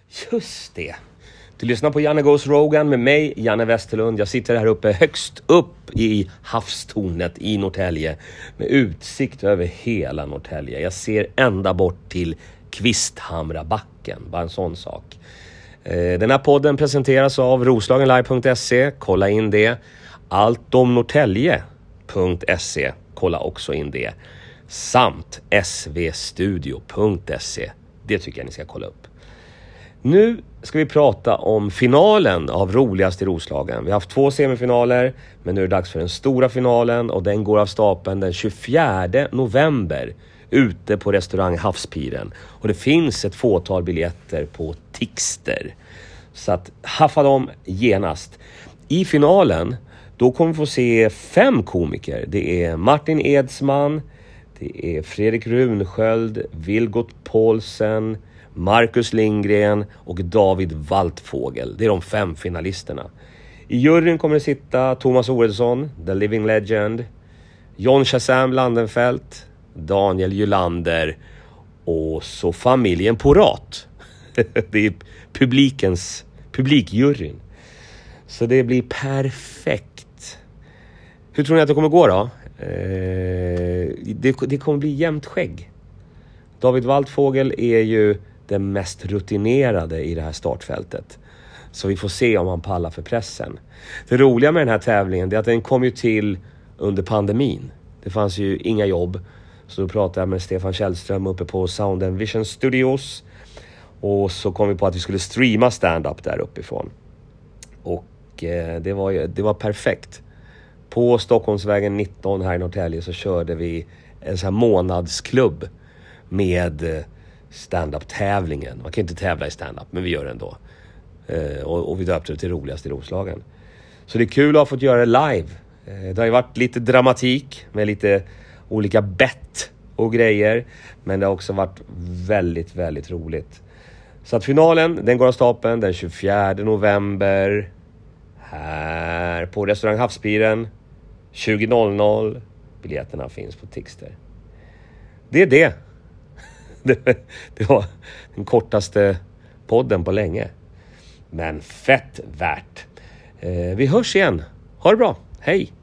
Just det. Du lyssnar på Janne Goes Rogan med mig, Janne Westerlund. Jag sitter här uppe högst upp i havstornet i Norrtälje med utsikt över hela Norrtälje. Jag ser ända bort till Kvisthamrabacken, bara en sån sak. Den här podden presenteras av roslagenlive.se. Kolla in det. Alltomnorrtälje.se. Kolla också in det. Samt svstudio.se. Det tycker jag ni ska kolla upp. Nu ska vi prata om finalen av Roligast i Roslagen. Vi har haft 2 semifinaler, men nu är det dags för den stora finalen och den går av stapeln den 24 november ute på restaurang Havspiren. Och det finns ett fåtal biljetter på Tixter. Så att haffa dem genast. I finalen då kommer vi få se 5 komiker. Det är Martin Edsman, det är Fredrik Runsköld, Vilgot Paulsen, Marcus Lindgren och David Waltfågel. Det är de 5 finalisterna. I juryn kommer det sitta Thomas Oredsson, The Living Legend, John Shazam Landenfelt, Daniel Julander och så familjen Porat. Det är publikjuryn. Så det blir perfekt. Hur tror ni att det kommer gå då? Det kommer bli jämnt skägg. David Waltfågel är ju den mest rutinerade i det här startfältet. Så vi får se om han pallar för pressen. Det roliga med den här tävlingen är att den kom ju till under pandemin. Det fanns ju inga jobb. Så då pratade jag med Stefan Källström uppe på Sound and Vision Studios. Och så kom vi på att vi skulle streama stand-up där uppifrån. Och det var perfekt. På Stockholmsvägen 19 här i Norrtälje så körde vi en sån här månadsklubb med stand-up-tävlingen. Man kan inte tävla i stand-up, men vi gör det ändå. Och vi döpte det till Roligast i Roslagen. Så det är kul att ha fått göra det live. Det har ju varit lite dramatik med lite olika bett och grejer. Men det har också varit väldigt, väldigt roligt. Så att finalen, den går av stapeln den 24 november. Här på restaurang Havspiren 20.00. Biljetterna finns på Tixter. Det är det. Det var den kortaste podden på länge. Men fett värt. Vi hörs igen. Ha det bra. Hej!